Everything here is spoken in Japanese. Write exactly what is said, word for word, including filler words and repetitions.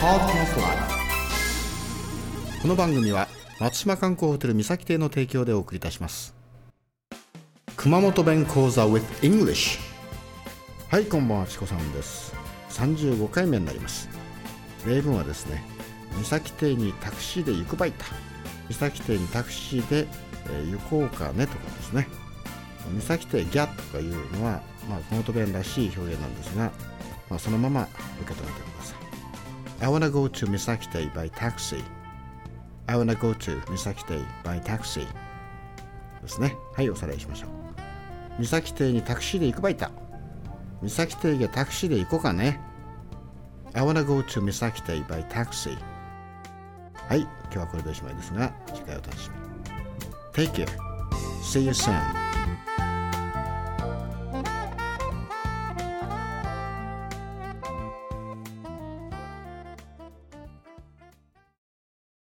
Podcast Live。 この番組は松島観光ホテル三崎邸の提供でお送りいたします。熊本弁講座 with English。 はい、こんばんは、チコさんです。さんじゅうごかいめになります。例文はですね、三崎邸にタクシーで行くばいた。三崎邸にタクシーで、えー、行こうかねとかですね。三崎邸ギャとかいうのは、まあ、熊本弁らしい表現なんですが、まあ、そのまま受け止めてください。I wanna go to 三崎邸 by taxi。I wanna go to 三崎邸 by taxi ですね。はい、おさらいしましょう。三崎邸にタクシーで行くばいた。三崎邸がタクシーで行こうかね。I wanna go to 三崎邸 by taxi。 はい、今日はこれでおしまいですが、次回お楽しみに。 Take care. See you soon.